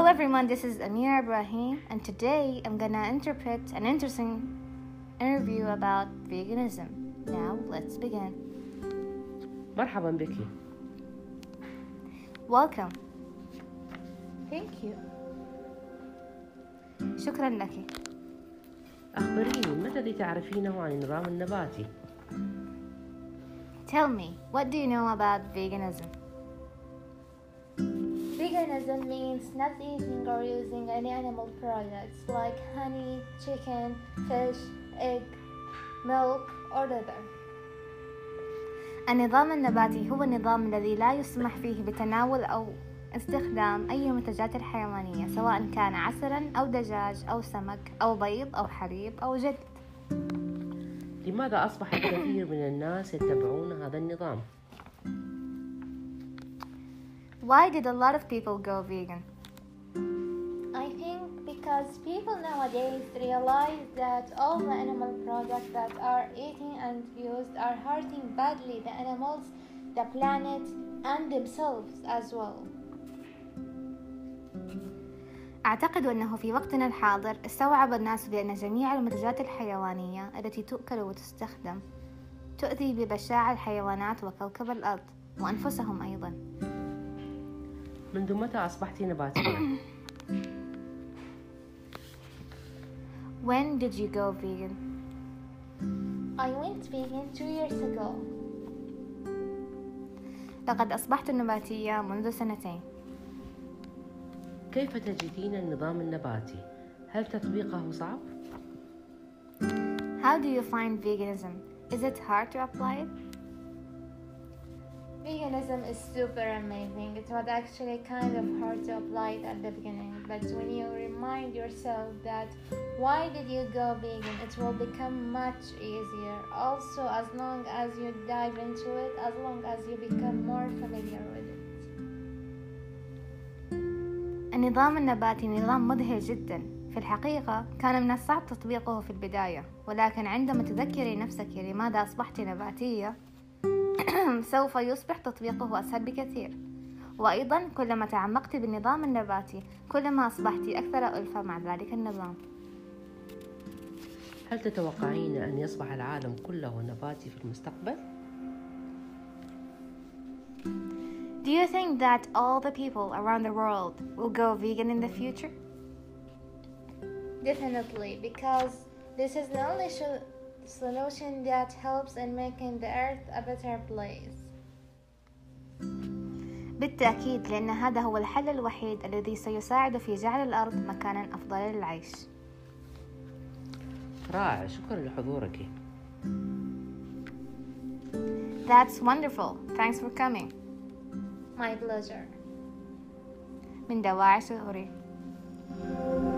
everyone, this is Amira Ibrahim, and today I'm gonna interpret an interesting interview about veganism. Now, let's begin. مرحبا بك. Welcome. Thank you. شكرا لك. أخبريني ما الذي تعرفينه عن النظام النباتي؟ Tell me, what do you know about veganism? Veganism means not eating or using any animal products like honey, chicken, fish, egg, milk, or leather. النظام النباتي هو النظام الذي لا يسمح فيه بتناول أو استخدام أي منتجات الحيوانية، سواء كان عسلا أو دجاج أو سمك أو بيض أو حليب أو جلد. لماذا أصبح الكثير من الناس يتبعون هذا النظام؟ Why did a lot of people go vegan? I think because people nowadays realize that all the animal products that are eaten and used are hurting badly the animals, the planet, and themselves as well. أعتقد أنه في وقتنا الحاضر استوعب الناس بأن جميع المنتجات الحيوانية التي تؤكل وتستخدم تؤذي ببشاعة الحيوانات وكوكب الأرض وأنفسهم أيضا. منذ متى أصبحت نباتية؟ When did you go vegan? I went vegan 2 years ago. لقد أصبحت نباتية منذ 2 سنين. كيف تجدين النظام النباتي؟ هل تطبيقه صعب؟ How do you find veganism? Is it hard to apply it? Veganism is super amazing. It was actually kind of hard to apply it at the beginning, but when you remind yourself that why did you go vegan, it will become much easier. Also, as long as you dive into it, as long as you become more familiar with it. النظام النباتي نظام مذهل جدا. في الحقيقة كان من الصعب تطبيقه في البداية، ولكن عندما تذكري نفسك لماذا أصبحت نباتية سوف يصبح تطبيقه أسهل بكثير. وأيضا كلما تعمقت بالنظام النباتي كلما أصبحت أكثر ألفة مع ذلك النظام. هل تتوقعين أن يصبح العالم كله نباتي في المستقبل؟ Do you think that all the people around the world will go vegan in the future? Definitely, because this is the only solution that helps in making the earth a better place. بالتأكيد، لأن هذا هو الحل الوحيد الذي سيساعد في جعل الأرض مكانا أفضل للعيش. رائع، شكرا لحضورك. That's wonderful. Thanks for coming. My pleasure. من دواعي شعوري.